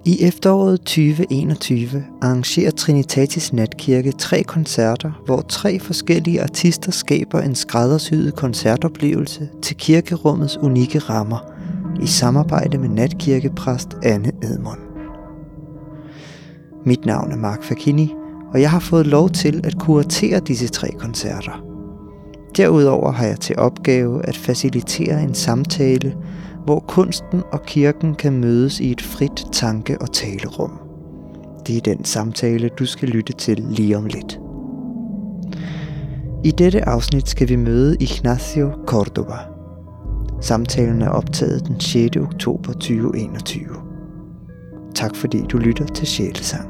I efteråret 2021 arrangerer Trinitatis Natkirke 3 koncerter, hvor 3 forskellige artister skaber en skræddersyet koncertoplevelse til kirkerummets unikke rammer, i samarbejde med natkirkepræst Anne Edmund. Mit navn er Mark Fakini, og jeg har fået lov til at kuratere disse 3 koncerter. Derudover har jeg til opgave at facilitere en samtale, hvor kunsten og kirken kan mødes i et frit tanke- og talerum. Det er den samtale, du skal lytte til lige om lidt. I dette afsnit skal vi møde Ignacio Córdoba. Samtalen er optaget den 6. oktober 2021. Tak fordi du lytter til Sjælesang.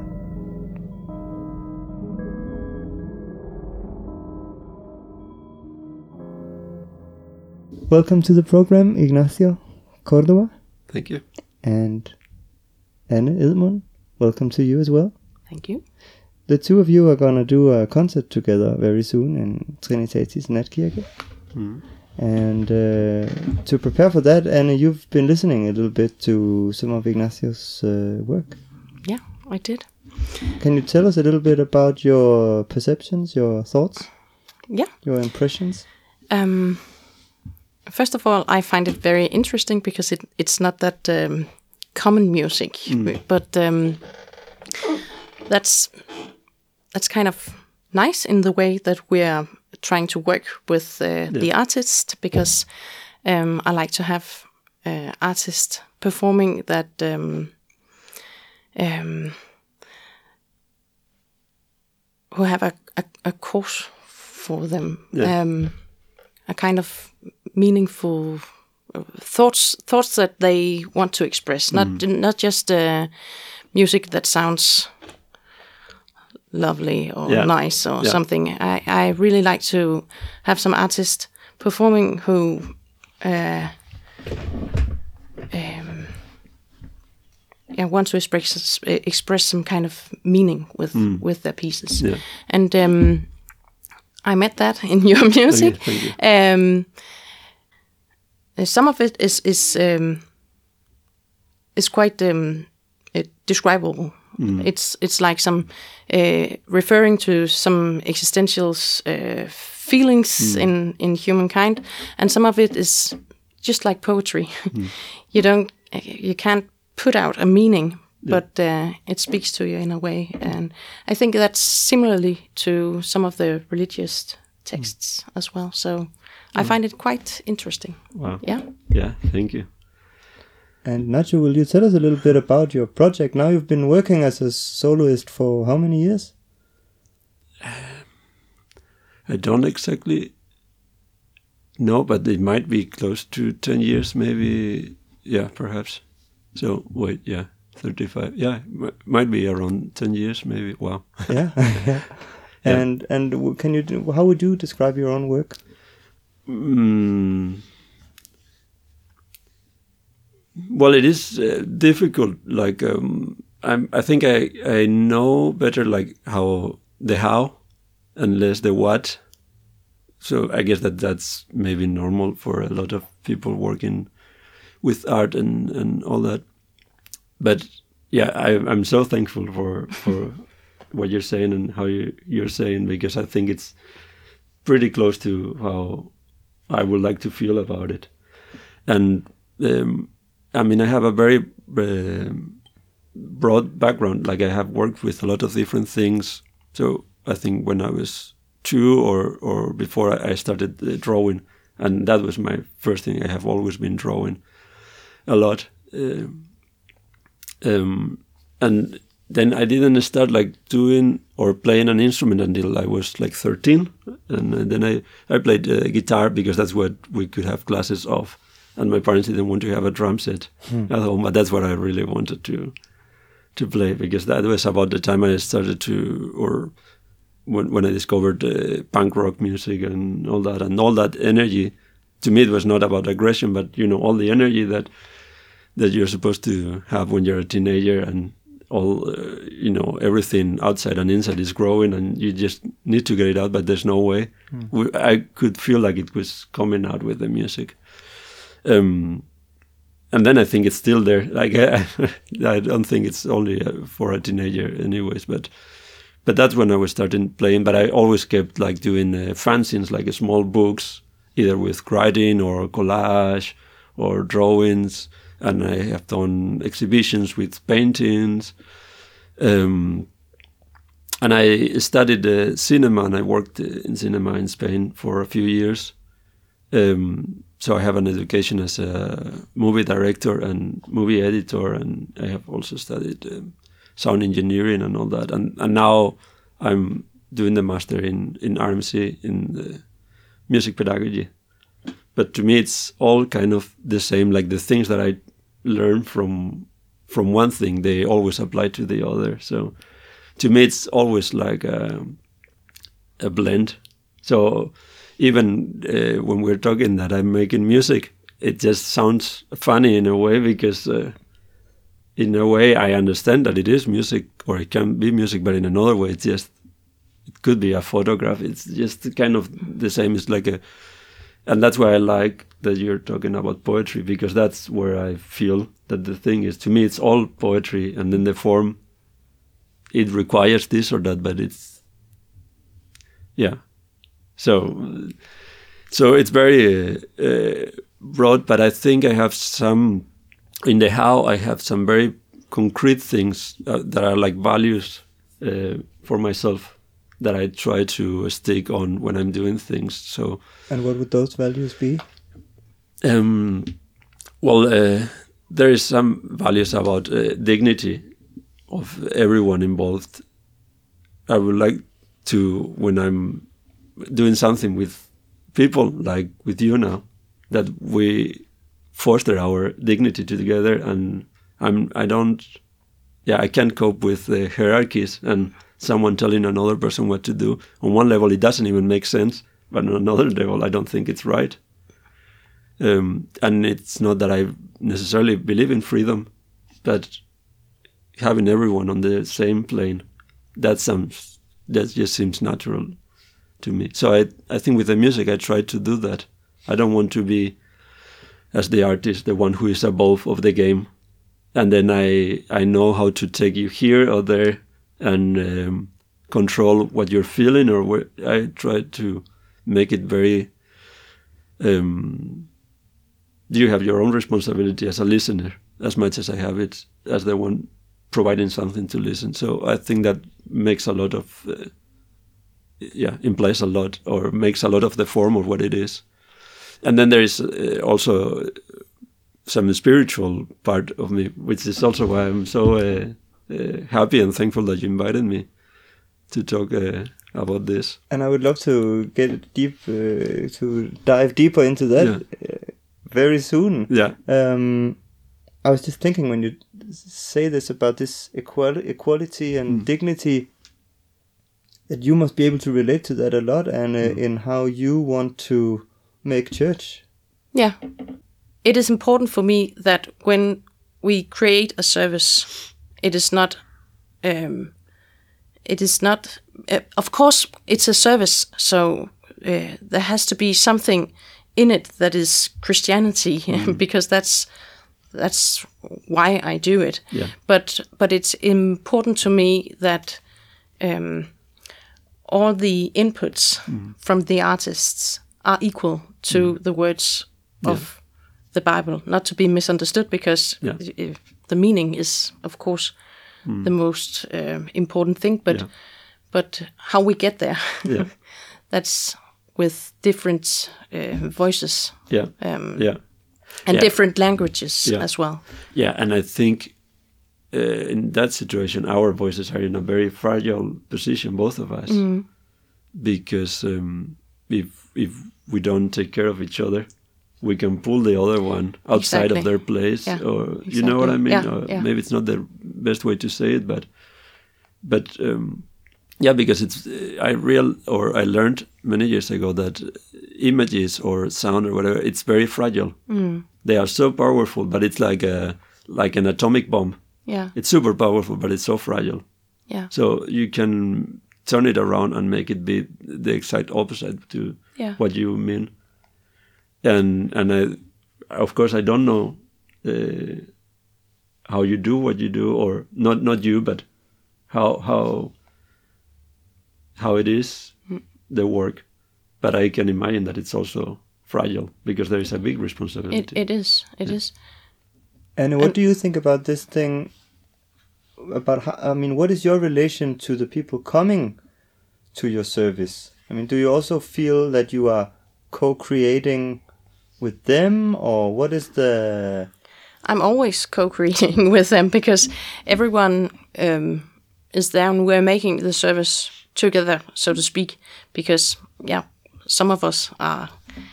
Welcome to the program, Ignacio Córdoba. Thank you. And Anne Edmund, welcome to you as well. Thank you. The two of you are going to do a concert together very soon in Trinitatis Natkirke. Mm. And to prepare for that, Anne, you've been listening a little bit to some of Ignacio's work. Yeah, I did. Can you tell us a little bit about your perceptions, your thoughts? Yeah. Your impressions? First of all, I find it very interesting because it's not that common music, but that's kind of nice in the way that we're trying to work with the artist, because I like to have artists performing that who have a cause for them, a kind of meaningful thoughts that they want to express, not just music that sounds lovely or nice or something. I really like to have some artists performing who want to express some kind of meaning with their pieces. And I met that in your music. Thank you. Some of it is quite describable. It's like some referring to some existential feelings in humankind, and some of it is just like poetry. You can't put out a meaning, but it speaks to you in a way, and I think that's similarly to some of the religious texts as well. So I find it quite interesting. Wow. Yeah, thank you. And Nacho, will you tell us a little bit about your project? Now you've been working as a soloist for how many years? I don't exactly know, but it might be close to 10 years, maybe. Yeah, perhaps. So, 35. Yeah, might be around 10 years, maybe. Wow. Yeah. And can you how would you describe your own work? Well, it is difficult. Like, I think I know better like how and less the what. So I guess that's maybe normal for a lot of people working with art and all that. But yeah, I'm so thankful for what you're saying and how you're saying, because I think it's pretty close to how I would like to feel about it. And I mean, I have a very broad background. Like, I have worked with a lot of different things. So I think when I was 2 or before, I started drawing, and that was my first thing. I have always been drawing a lot. And then I didn't start like doing or playing an instrument until I was like 13. And then I played guitar because that's what we could have classes of. And my parents didn't want to have a drum set at home, but that's what I really wanted to play, because that was about the time I started when I discovered punk rock music and all that energy. To me, it was not about aggression, but all the energy that you're supposed to have when you're a teenager, and all everything outside and inside is growing, and you just need to get it out, but there's no way. I could feel like it was coming out with the music. And And then I think it's still there. Like I don't think it's only for a teenager, anyways. But that's when I was starting playing. But I always kept like doing fanzines, like small books, either with writing or collage or drawings. And I have done exhibitions with paintings. And I studied cinema, and I worked in cinema in Spain for a few years. So I have an education as a movie director and movie editor, and I have also studied sound engineering and all that. And now I'm doing the master in RMC in the music pedagogy. But to me, it's all kind of the same. Like the things that I learn from one thing, they always apply to the other. So to me, it's always like a blend. So even when we're talking that I'm making music, it just sounds funny in a way, because in a way I understand that it is music, or it can be music, but in another way it could be a photograph. It's just kind of the same. It's like and that's why I like that you're talking about poetry, because that's where I feel that the thing is, to me, it's all poetry, and then the form, it requires this or that, but it's, yeah. So it's very broad, but I think I have some, in the how, I have some very concrete things that are like values for myself that I try to stick on when I'm doing things. So. And what would those values be? Well, there is some values about dignity of everyone involved. I would like to, when I'm doing something with people like with you now, that we foster our dignity together. And I can't cope with the hierarchies and someone telling another person what to do. On one level, it doesn't even make sense, but on another level, I don't think it's right. And it's not that I necessarily believe in freedom, but having everyone on the same plane, that just seems natural to me. So I think with the music, I try to do that. I don't want to be, as the artist, the one who is above of the game. And then I know how to take you here or there and control what you're feeling, or I try to make it very... you have your own responsibility as a listener as much as I have it as the one providing something to listen. So I think that makes a lot of, implies a lot, or makes a lot of the form of what it is. And then there is also some spiritual part of me, which is also why I'm so happy and thankful that you invited me to talk about this. And I would love to get deep, to dive deeper into that very soon. Yeah. I was just thinking, when you say this about this equality and dignity, that you must be able to relate to that a lot, and in how you want to make church. Yeah. It is important for me that when we create a service, it is not, of course, it's a service, so there has to be something in it that is Christianity, because that's why I do it. Yeah. But it's important to me that all the inputs from the artists are equal to the words of the Bible, not to be misunderstood, because the meaning is, of course, the most important thing, but how we get there, that's with different voices and different languages as well. Yeah, and I think in that situation, our voices are in a very fragile position, both of us, because if we don't take care of each other, we can pull the other one outside of their place, or you know what I mean? Maybe it's not the best way to say it, but because it's I learned many years ago that images or sound or whatever, it's very fragile. They are so powerful, but it's like an atomic bomb. Yeah, it's super powerful, but it's so fragile. Yeah, so you can turn it around and make it be the exact opposite to what you mean. And I, of course, I don't know how you do what you do, or not you, but how it is, the work. But I can imagine that it's also fragile because there is a big responsibility. It is. It is. And what do you think about this thing? About how, what is your relation to the people coming to your service? Do you also feel that you are co-creating with them, or what is the... I'm always co-creating with them because everyone is there and we're making the service together, so to speak, because some of us are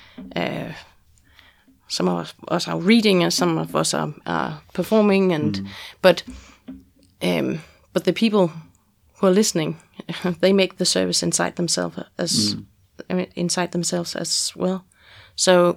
reading and some of us are performing, and but the people who are listening, they make the service inside themselves as well. So,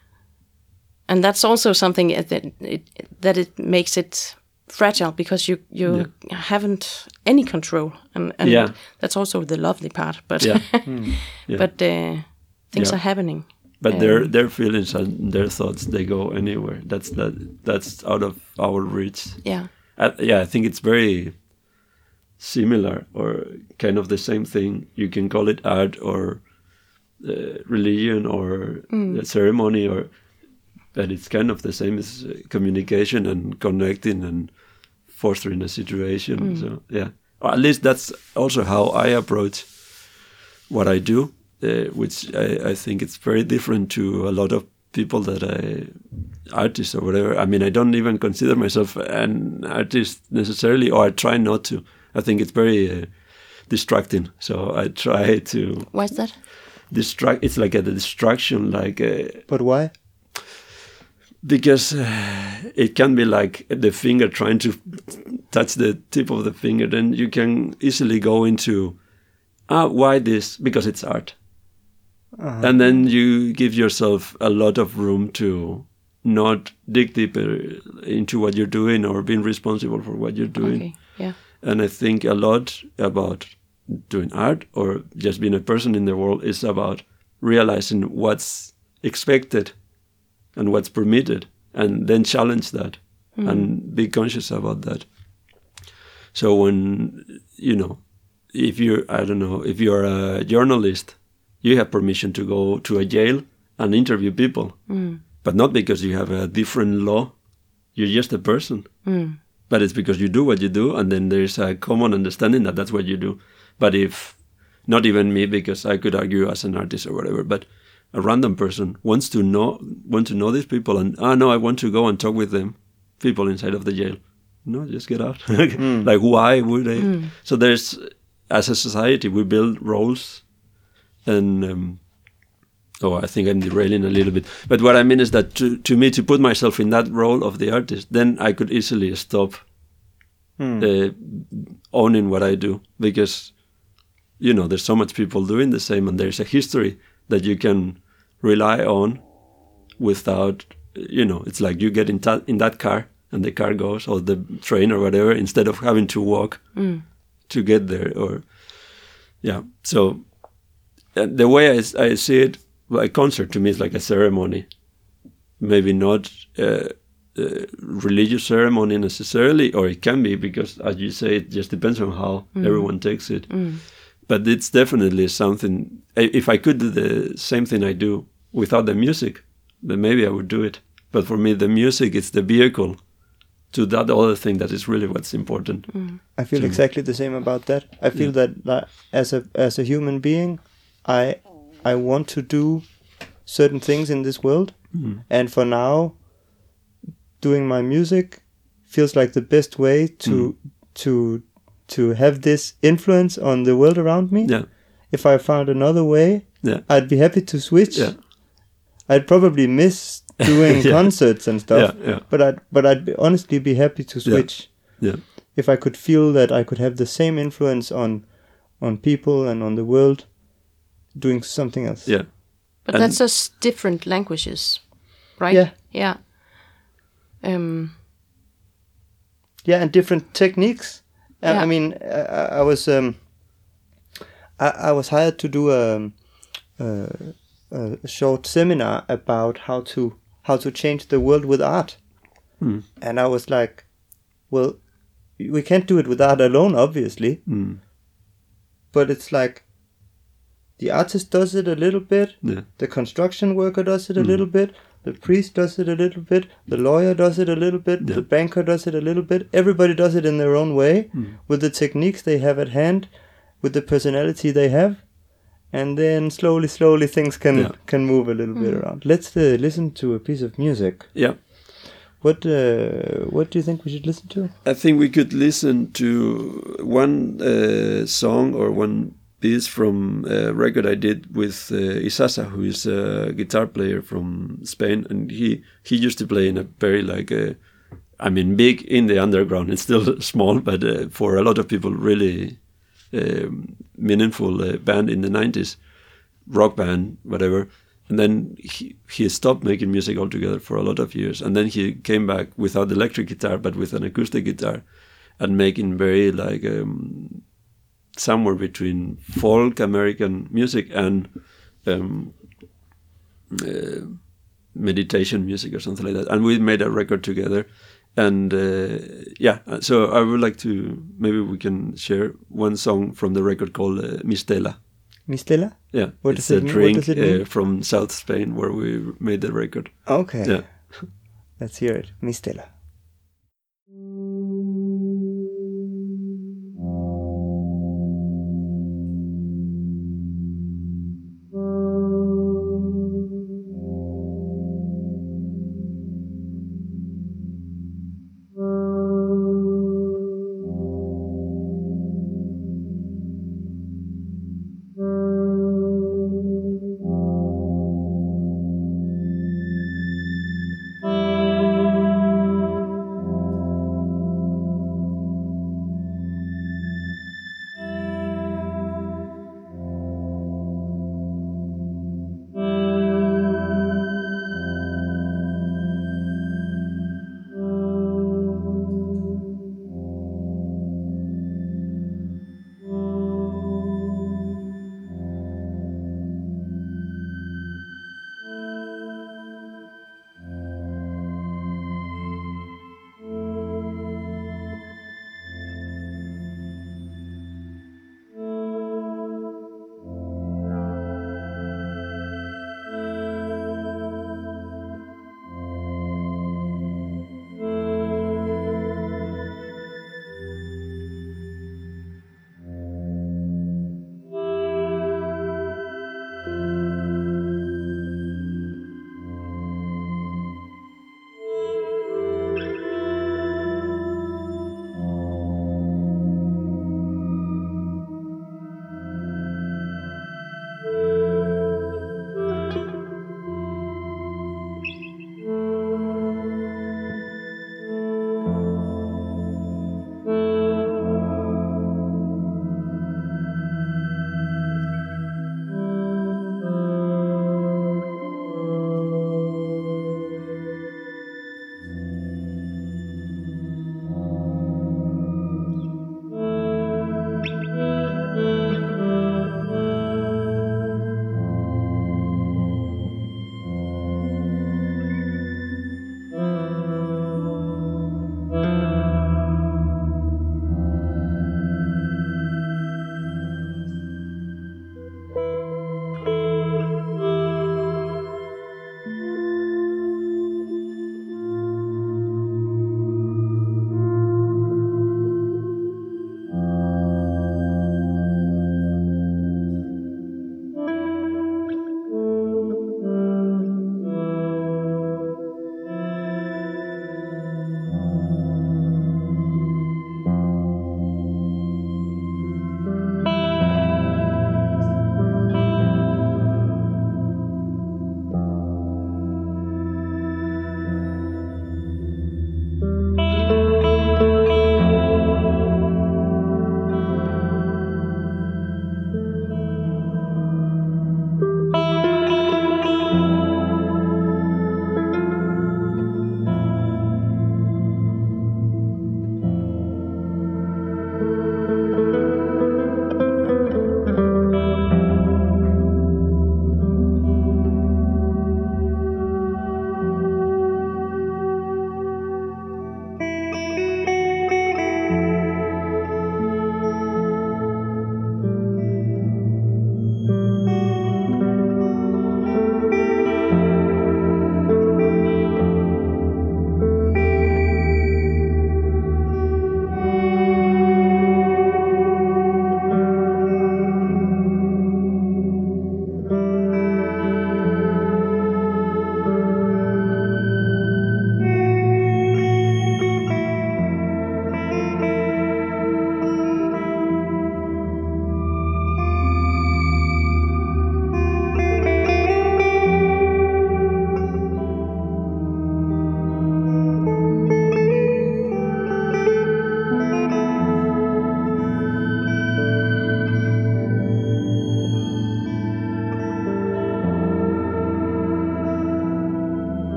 and that's also something that it makes it fragile because you haven't any control, and that's also the lovely part. But but things are happening. But their feelings and their thoughts, they go anywhere. That's out of our reach. Yeah. I think it's very similar, or kind of the same thing. You can call it art or religion or ceremony, but it's kind of the same as communication and connecting and fostering a situation. So or at least that's also how I approach what I do, which I think it's very different to a lot of people that artists or whatever. I don't even consider myself an artist necessarily, or I try not to. I think it's very distracting. So I try to... Why is that? It's like a distraction. But why? Because it can be like the finger trying to touch the tip of the finger. Then you can easily go into, why this? Because it's art. Uh-huh. And then you give yourself a lot of room to not dig deeper into what you're doing or being responsible for what you're doing. Okay. Yeah. And I think a lot about doing art or just being a person in the world is about realizing what's expected and what's permitted, and then challenge that and be conscious about that. So when, if you're a journalist, you have permission to go to a jail and interview people, but not because you have a different law. You're just a person. But it's because you do what you do, and then there's a common understanding that that's what you do. But if, not even me, because I could argue as an artist or whatever, but a random person wants to know these people, and no, I want to go and talk with them, people inside of the jail. No, just get out. Like, why would they? So there's, as a society, we build roles, and I think I'm derailing a little bit. But what I mean is that to me, to put myself in that role of the artist, then I could easily stop owning what I do, because, there's so much people doing the same, and there's a history that you can rely on without, it's like you get in that car and the car goes, or the train or whatever, instead of having to walk to get there. So the way I see it, a concert to me is like a ceremony, maybe not a religious ceremony necessarily, or it can be, because as you say, it just depends on how everyone takes it. But it's definitely something. If I could do the same thing I do without the music, then maybe I would do it. But for me, the music is the vehicle to that other thing that is really what's important. I feel exactly the same about that. I feel that as a human being, I want to do certain things in this world, and for now, doing my music feels like the best way to have this influence on the world around me. Yeah. If I found another way, I'd be happy to switch. Yeah. I'd probably miss doing concerts and stuff, but I'd honestly be happy to switch. Yeah. If I could feel that I could have the same influence on people and on the world doing something else. Yeah. But that's just different languages, right? Yeah. Yeah. And different techniques. I mean, I was hired to do a short seminar about how to change the world with art, And I was like, well, we can't do it without alone, obviously. But it's like the artist does it a little bit, the construction worker does it a little bit, the priest does it a little bit, the lawyer does it a little bit, the banker does it a little bit. Everybody does it in their own way, with the techniques they have at hand, with the personality they have. And then slowly things can move a little bit around. Let's listen to a piece of music. Yeah. What do you think we should listen to? I think we could listen to one song or one piece from a record I did with Isasa, who is a guitar player from Spain, and he used to play in a very big in the underground. It's still small, but for a lot of people, really meaningful band in the 90s, rock band, whatever. And then he stopped making music altogether for a lot of years. And then he came back without electric guitar, but with an acoustic guitar, and making very somewhere between folk American music and meditation music or something like that. And we made a record together. And so I would like to, maybe we can share one song from the record called Mistela. Mistela? Yeah, It's a drink from South Spain where we made the record. Okay. Yeah. Let's hear it. Mistela.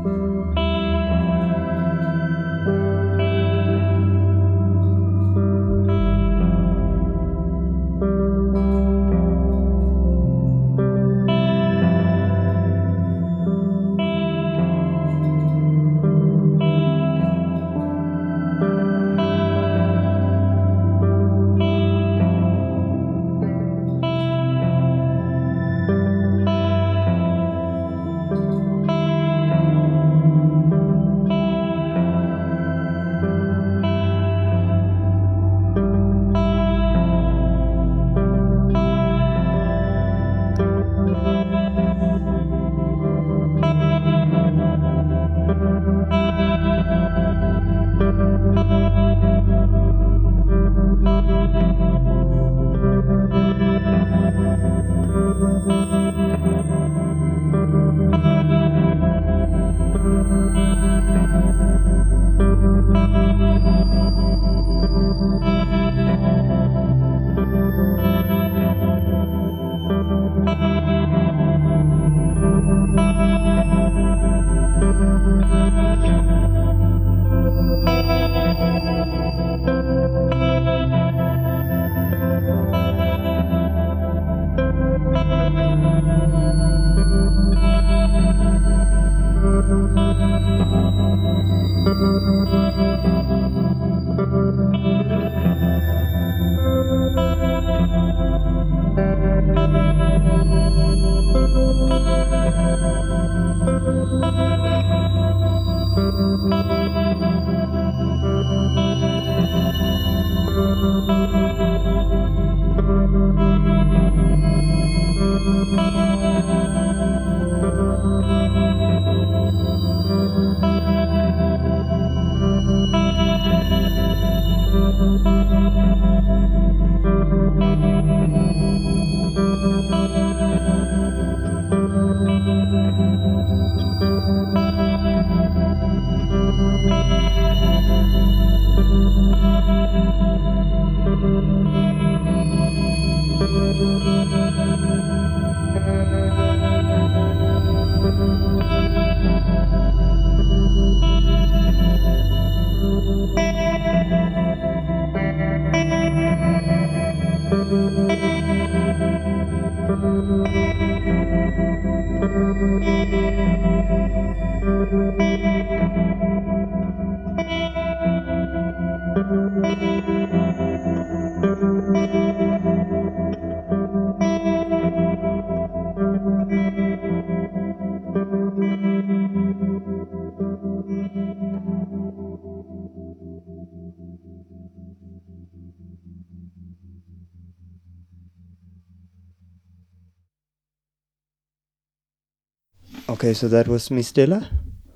Okay, so that was Mistela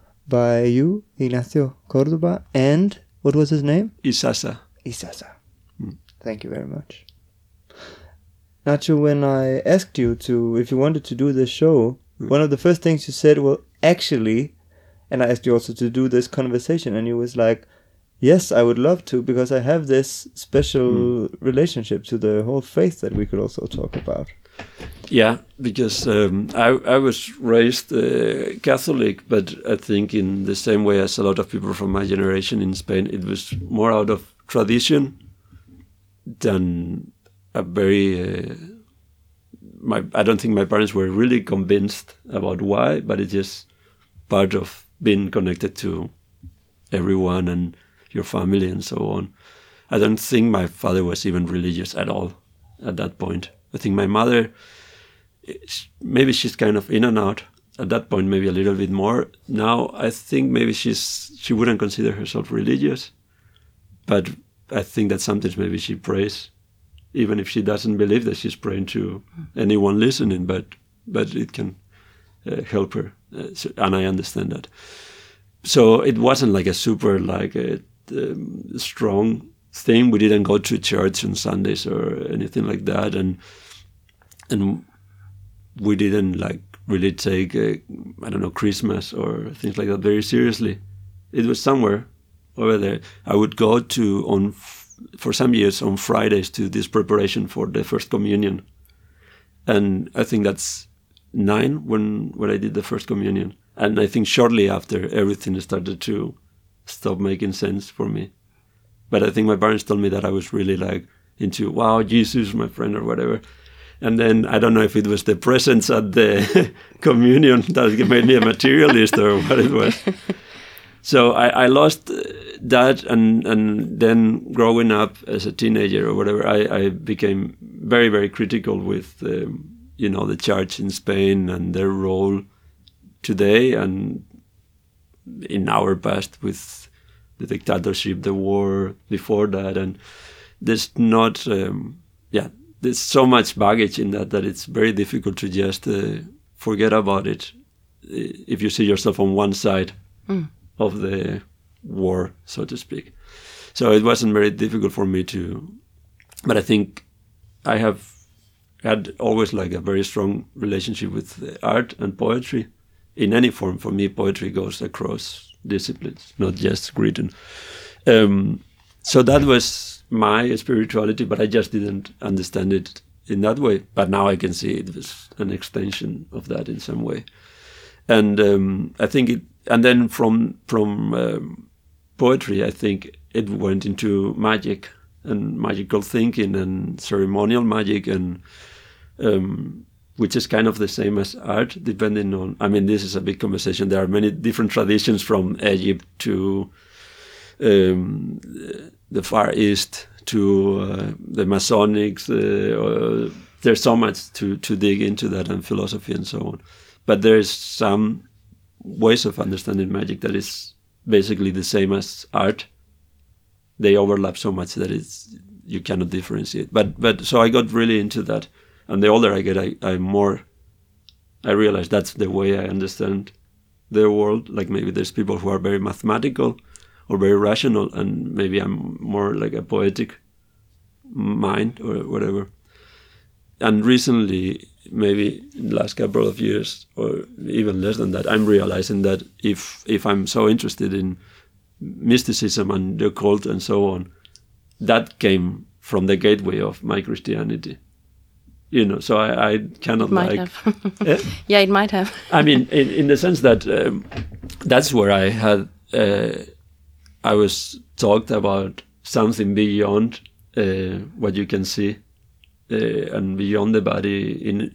by you, Ignacio Cordoba, and what was his name? Isasa. Isasa. Thank you very much. Nacho, when I asked you if you wanted to do this show, one of the first things you said, well, actually, and I asked you also to do this conversation, and you was like, yes, I would love to, because I have this special relationship to the whole faith that we could also talk about. Yeah, because I was raised Catholic, but I think in the same way as a lot of people from my generation in Spain, it was more out of tradition than a very... I don't think my parents were really convinced about why, but it's just part of being connected to everyone and your family and so on. I don't think my father was even religious at all at that point. I think my mother, maybe she's kind of in and out. At that point, maybe a little bit more. Now, I think maybe she wouldn't consider herself religious, but I think that sometimes maybe she prays, even if she doesn't believe that she's praying to anyone listening, but it can help her, and I understand that. So it wasn't like a super strong thing. We didn't go to church on Sundays or anything like that, and we didn't really take Christmas or things like that very seriously. It was somewhere over there. I would go for some years on Fridays to this preparation for the First Communion, and I think that's 9 when I did the First Communion. And I think shortly after, everything started to stop making sense for me. But I think my parents told me that I was really like into, wow, Jesus, my friend, or whatever. And then I don't know if it was the presence at the communion that made me a materialist or what it was. So I lost that, and then growing up as a teenager or whatever, I became very, very critical with, the church in Spain and their role today and in our past with the dictatorship, the war before that. And there's not, there's so much baggage in that it's very difficult to just forget about it if you see yourself on one side of the war, so to speak. So it wasn't very difficult for me but I think I have had always like a very strong relationship with art and poetry in any form. For me, poetry goes across disciplines, not just written. So that was my spirituality, but I just didn't understand it in that way. But now I can see it was an extension of that in some way. And I think and then from poetry, I think it went into magic and magical thinking and ceremonial magic, and which is kind of the same as art, depending on, this is a big conversation. There are many different traditions from Egypt to the Far East to the Masonics. There's so much to dig into that, and philosophy and so on. But there's some ways of understanding magic that is basically the same as art. They overlap so much that you cannot differentiate. But so I got really into that, and the older I get, I realize that's the way I understand the world. Like maybe there's people who are very mathematical or very rational, and maybe I'm more like a poetic mind or whatever. And recently, maybe in the last couple of years, or even less than that, I'm realizing that if I'm so interested in mysticism and the occult and so on, that came from the gateway of my Christianity. So I cannot might like... have. Yeah, it might have. in the sense that that's where I had... I was talked about something beyond what you can see. And beyond the body,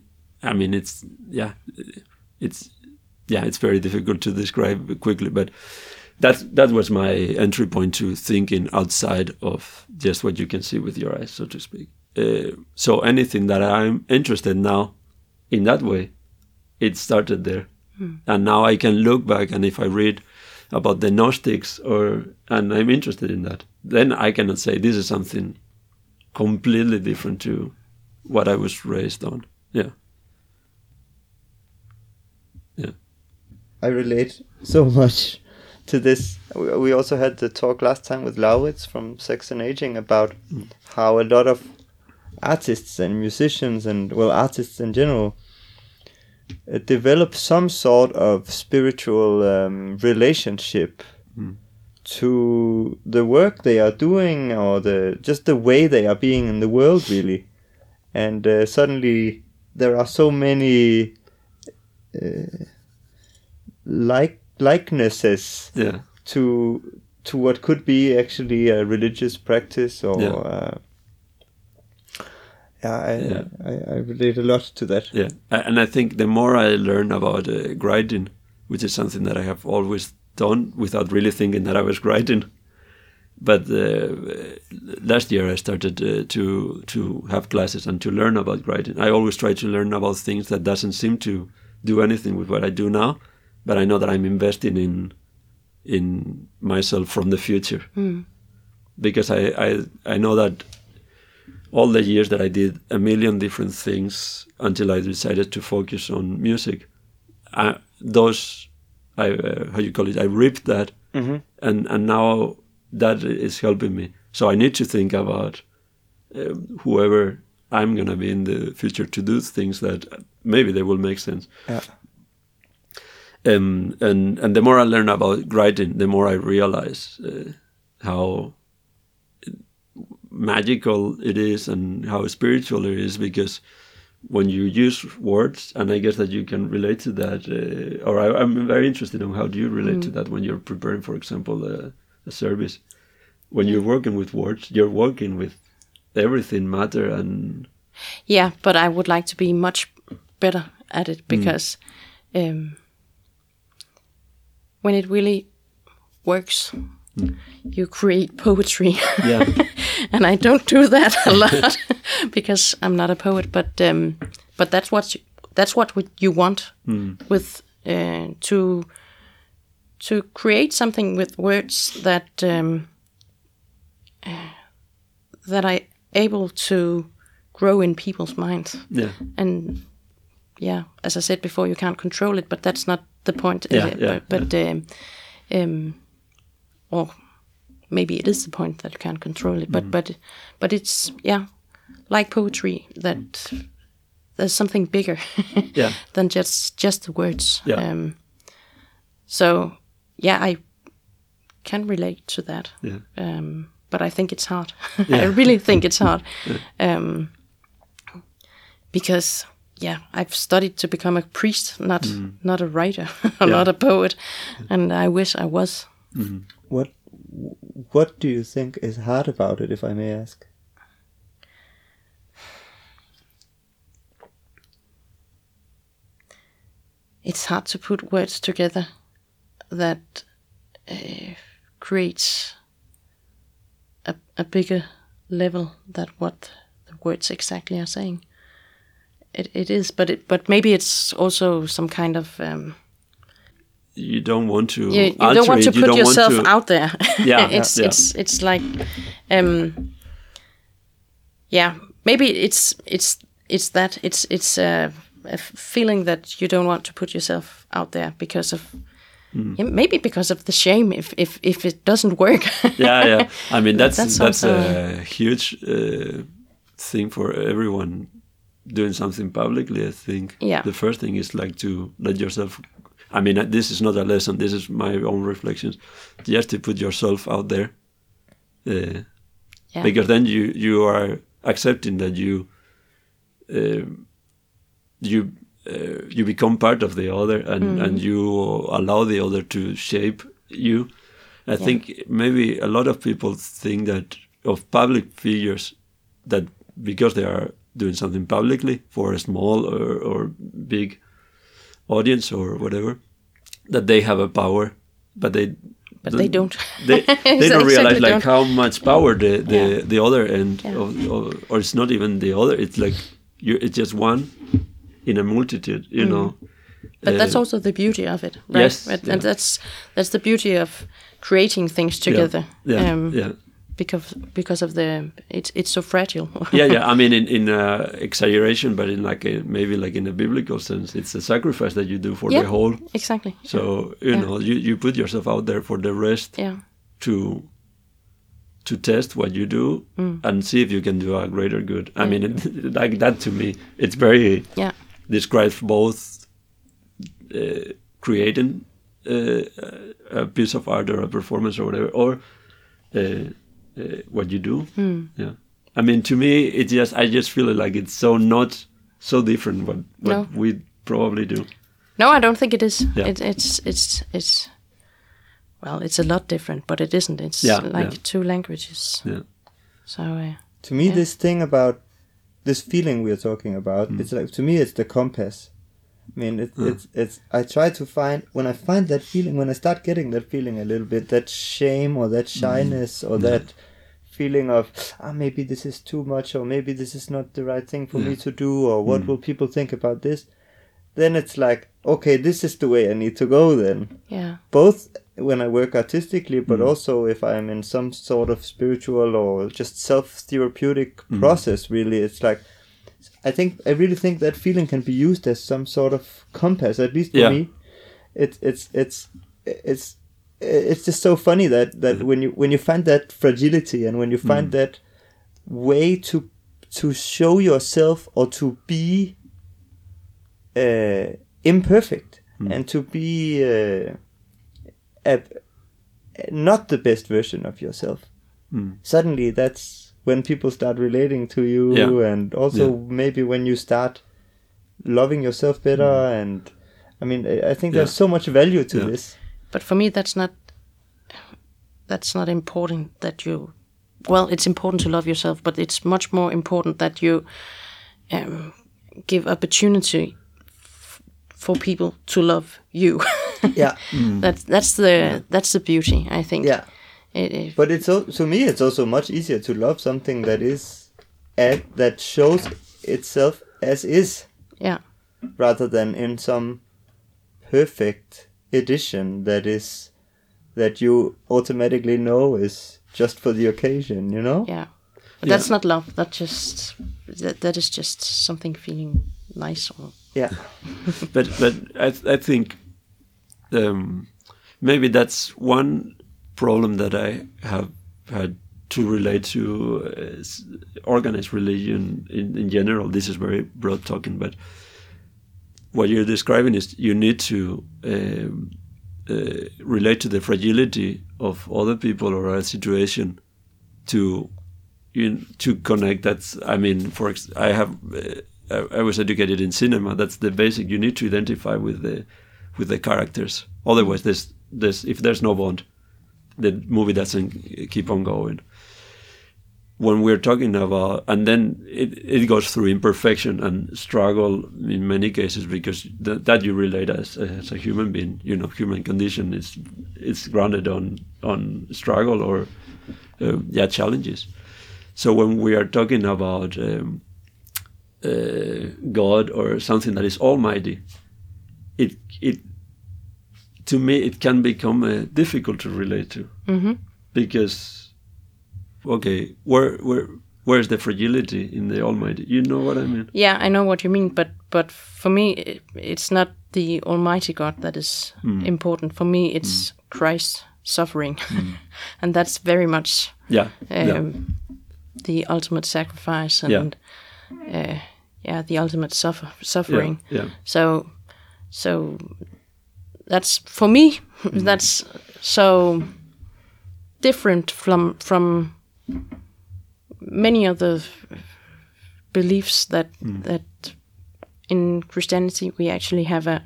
it's very difficult to describe quickly, but that was my entry point to thinking outside of just what you can see with your eyes, so to speak. So anything that I'm interested now in that way, it started there. And now I can look back, and if I read about the Gnostics and I'm interested in that, then I cannot say this is something completely different to what I was raised on. Yeah. I relate so much to this. We also had the talk last time with Lauritz from Sex and Aging about how a lot of artists and musicians and, artists in general develop some sort of spiritual relationship to the work they are doing, or just the way they are being in the world, really. And suddenly there are so many likenesses to what could be actually a religious practice, or I relate a lot to that. Yeah, and I think the more I learn about writing, which is something that I have always done without really thinking that I was writing. But last year I started to have classes and to learn about writing. I always try to learn about things that doesn't seem to do anything with what I do now, but I know that I'm investing in myself from the future. Because I know that all the years that I did a million different things until I decided to focus on music, I ripped that, and now that is helping me. So I need to think about whoever I'm going to be in the future to do things that maybe they will make sense. Yeah. And the more I learn about writing, the more I realize how magical it is and how spiritual it is, because when you use words, and I guess that you can relate to that, I'm very interested in how do you relate to that when you're preparing, for example, a service. When you're working with words, you're working with everything, matter and... Yeah, but I would like to be much better at it, because when it really works, you create poetry. Yeah. And I don't do that a lot because I'm not a poet. But that's what you want with to create something with words that that are able to grow in people's minds. Yeah. And yeah, as I said before, you can't control it, but that's not the point. Or maybe it is the point that you can't control it. But it's like poetry, that there's something bigger than just the words. Yeah. So I can relate to that. Yeah. But I think it's hard. I really think it's hard. Because I've studied to become a priest, not a writer, not a poet, and I wish I was. Mm-hmm. What do you think is hard about it, if I may ask? It's hard to put words together that creates a bigger level than what the words exactly are saying. It is, but maybe it's also some kind of you don't want to you don't want to put yourself out there. It's like maybe it's that it's a feeling that you don't want to put yourself out there because of maybe because of the shame if it doesn't work. I mean that's a huge thing for everyone doing something publicly. I think the first thing is like to let yourself, I mean, this is not a lesson, this is my own reflections, just to put yourself out there, because then you are accepting that you become part of the other, and you allow the other to shape you. I think maybe a lot of people think that of public figures, that because they are doing something publicly for a small or big audience or whatever, that they have a power, but they don't. They don't realize like how much power the other end or it's not even the other. It's like it's just one in a multitude, you know. But that's also the beauty of it, right? Yes, and that's the beauty of creating things together. Because of it's so fragile. I mean, in exaggeration, but in maybe like in a biblical sense, it's a sacrifice that you do for the whole. Exactly. So you know, you put yourself out there for the rest. To test what you do and see if you can do a greater good. I mean, like that to me, it's very describes both creating a piece of art or a performance or whatever, or what you do. I mean, to me, I just feel like it's so not so different what we probably do. No, I don't think it is. It's well, it's a lot different, but it isn't. It's like two languages. So to me, this thing about this feeling we are talking about, it's like, to me, it's the compass. I mean, it's. I try to find, when I find that feeling, when I start getting that feeling a little bit, that shame or that shyness or that feeling of maybe this is too much, or maybe this is not the right thing for me to do, or what will people think about this? Then it's like, okay, this is the way I need to go then. Both when I work artistically, but also if I'm in some sort of spiritual or just self-therapeutic process, really, it's like, I really think that feeling can be used as some sort of compass, at least for me. It's just so funny that when you find that fragility, and when you find that way to show yourself, or to be imperfect, and to be not the best version of yourself. Suddenly that's when people start relating to you, and also maybe when you start loving yourself better, and I mean, I think there's so much value to this. But for me, that's not important that you. Well, it's important to love yourself, but it's much more important that you give opportunity for people to love you. That's the beauty, I think. Yeah. But to me, it's also much easier to love something that is that shows itself as is. Yeah. Rather than in some perfect edition that you automatically know is just for the occasion, you know? Yeah. But that's not love. That is just something feeling nice. but I think maybe that's one problem that I have had to relate to organized religion in general. This is very broad talking, but what you're describing is you need to relate to the fragility of other people or a situation to connect. That's, I mean, I was educated in cinema. That's the basic. You need to identify with the characters. Otherwise, if there's no bond, the movie doesn't keep on going. When we're talking about, and then it goes through imperfection and struggle in many cases, because that you relate as a human being, you know, human condition it's grounded on struggle or challenges. So when we are talking about God or something that is almighty, it to me it can become difficult to relate to, because. Okay, where's the fragility in the Almighty? You know what I mean? Yeah, I know what you mean, but for me, it's not the Almighty God that is important. For me, it's Christ's suffering, and that's very much the ultimate sacrifice and the ultimate suffering. Yeah. So that's for me. That's so different from many other beliefs that in Christianity we actually have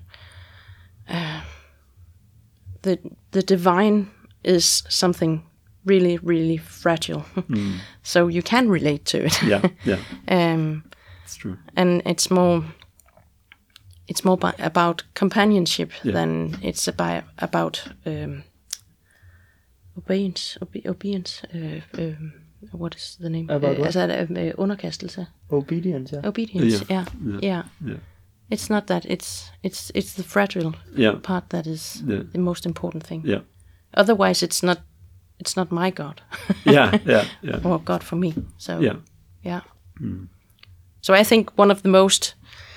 the divine is something really, really fragile. So you can relate to it. It's true. And it's more about companionship than it's about obedience. What is the name? About what? Underkastelse. Obedience. Yeah. Obedience. Yeah. It's not that. It's the fragile part that is the most important thing. Yeah. Otherwise, it's not my God. Or God for me. So yeah. So I think one of the most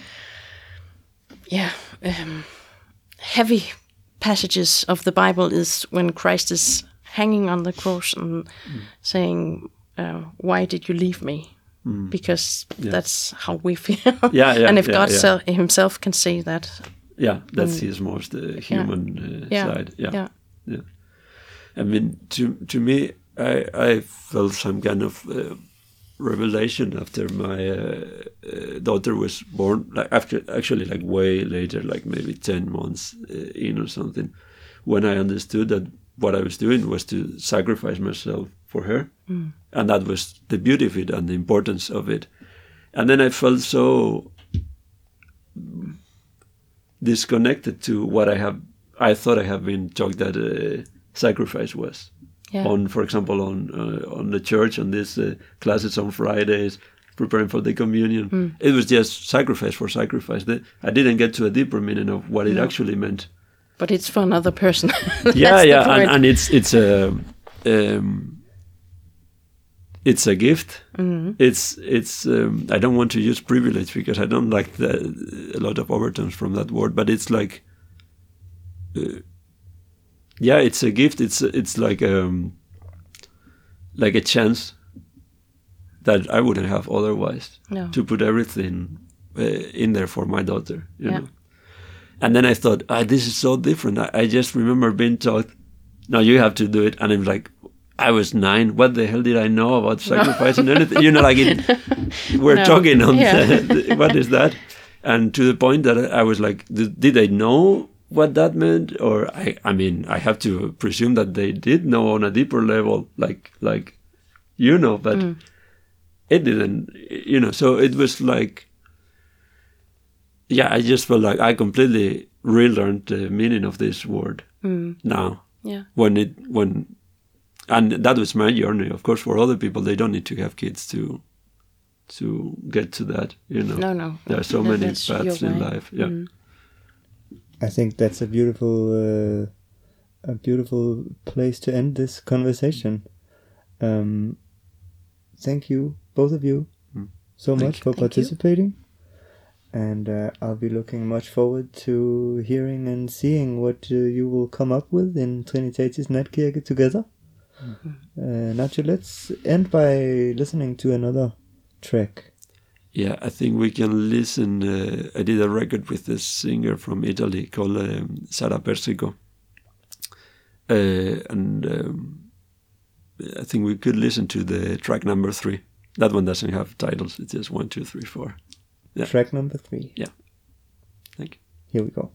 heavy passages of the Bible is when Christ is hanging on the cross and saying, "Why did you leave me?" Because that's how we feel. And if God Himself can say that, that's His most human side. Yeah. I mean, to me, I felt some kind of revelation after my daughter was born. Like actually, like way later, like maybe 10 months in or something, when I understood that what I was doing was to sacrifice myself for her, and that was the beauty of it and the importance of it. And then I felt so disconnected to what I thought I have been taught that sacrifice was. For example, on the church, on these classes on Fridays, preparing for the communion. It was just sacrifice for sacrifice. I didn't get to a deeper meaning of what it actually meant. But it's for another person. And it's a gift. It's I don't want to use privilege because I don't like a lot of overtones from that word. But it's like, it's a gift. It's like a chance that I wouldn't have otherwise. No. To put everything in there for my daughter. You know. And then I thought, this is so different. I just remember being taught, no, you have to do it. And I'm like, I was 9. What the hell did I know about sacrificing anything? You know, like we're talking on what is that? and to the point that I was like, did they know what that meant? Or I mean, I have to presume that they did know on a deeper level, like but it didn't, So it was like, I just felt like I completely relearned the meaning of this word now. Yeah. And that was my journey. Of course, for other people, they don't need to have kids to get to that. No. There are so many paths in life. Yeah. I think that's a beautiful place to end this conversation. Thank you, both of you, so much for participating. And I'll be looking much forward to hearing and seeing what you will come up with in Trinitatis Natkirke together. Nacho, let's end by listening to another track. Yeah, I think we can listen. I did a record with this singer from Italy called Sara Persico. And I think we could listen to the track number 3. That one doesn't have titles. It's just 1, 2, 3, 4. Yeah. Track number 3. Yeah. Thank you. Here we go.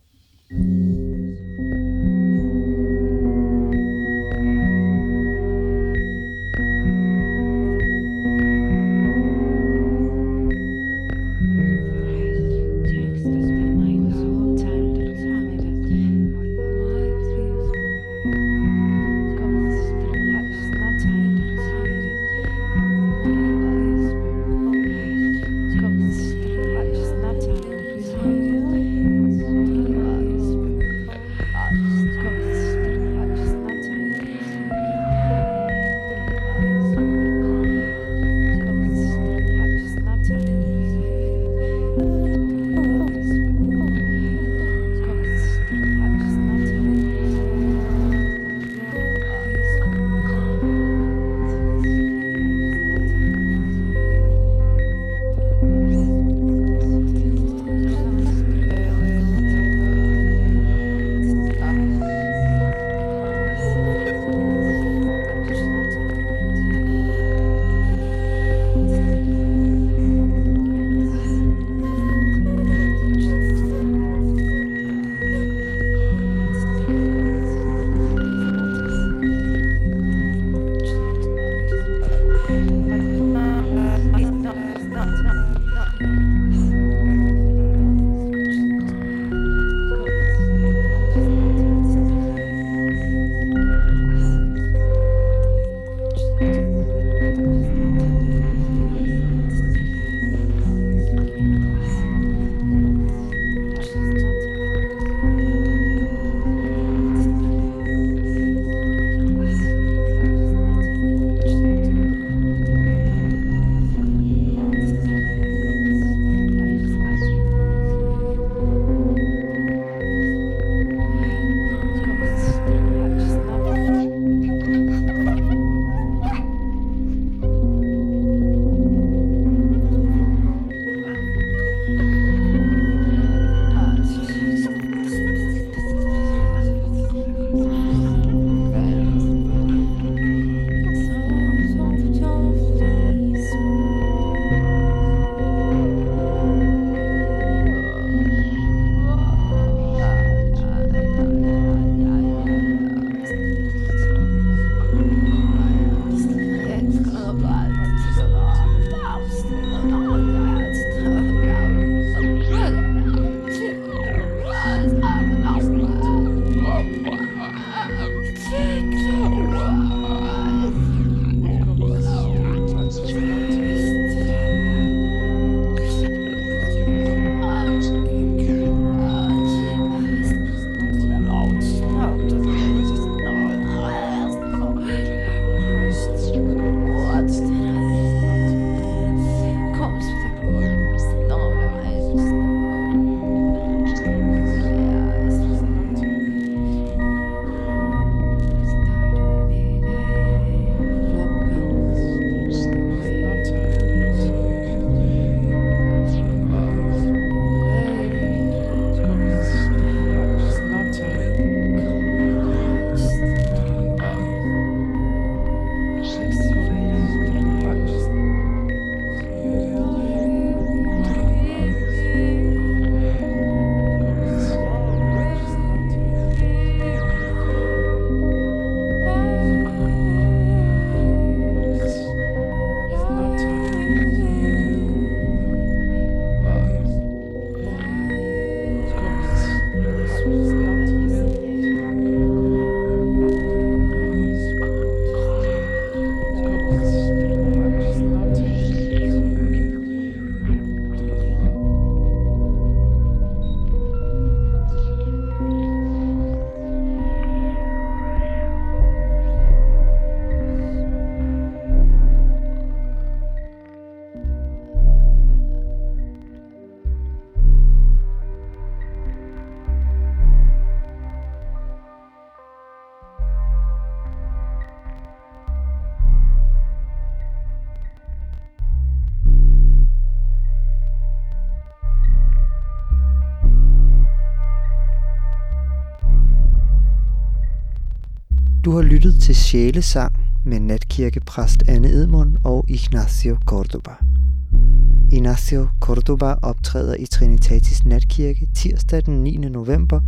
Du har lyttet til Sjælesang med natkirkepræst Anne Edmund og Ignacio Cordoba. Ignacio Cordoba optræder i Trinitatis Natkirke tirsdag den 9. november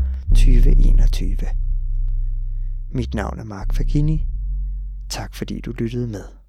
2021. Mit navn er Mark Fagini. Tak fordi du lyttede med.